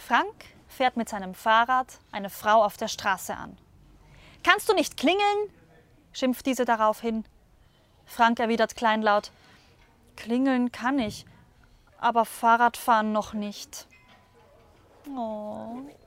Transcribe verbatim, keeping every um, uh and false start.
Frank fährt mit seinem Fahrrad eine Frau auf der Straße an. »Kannst du nicht klingeln?« schimpft diese daraufhin. Frank erwidert kleinlaut: »Klingeln kann ich, aber Fahrradfahren noch nicht.« Oh.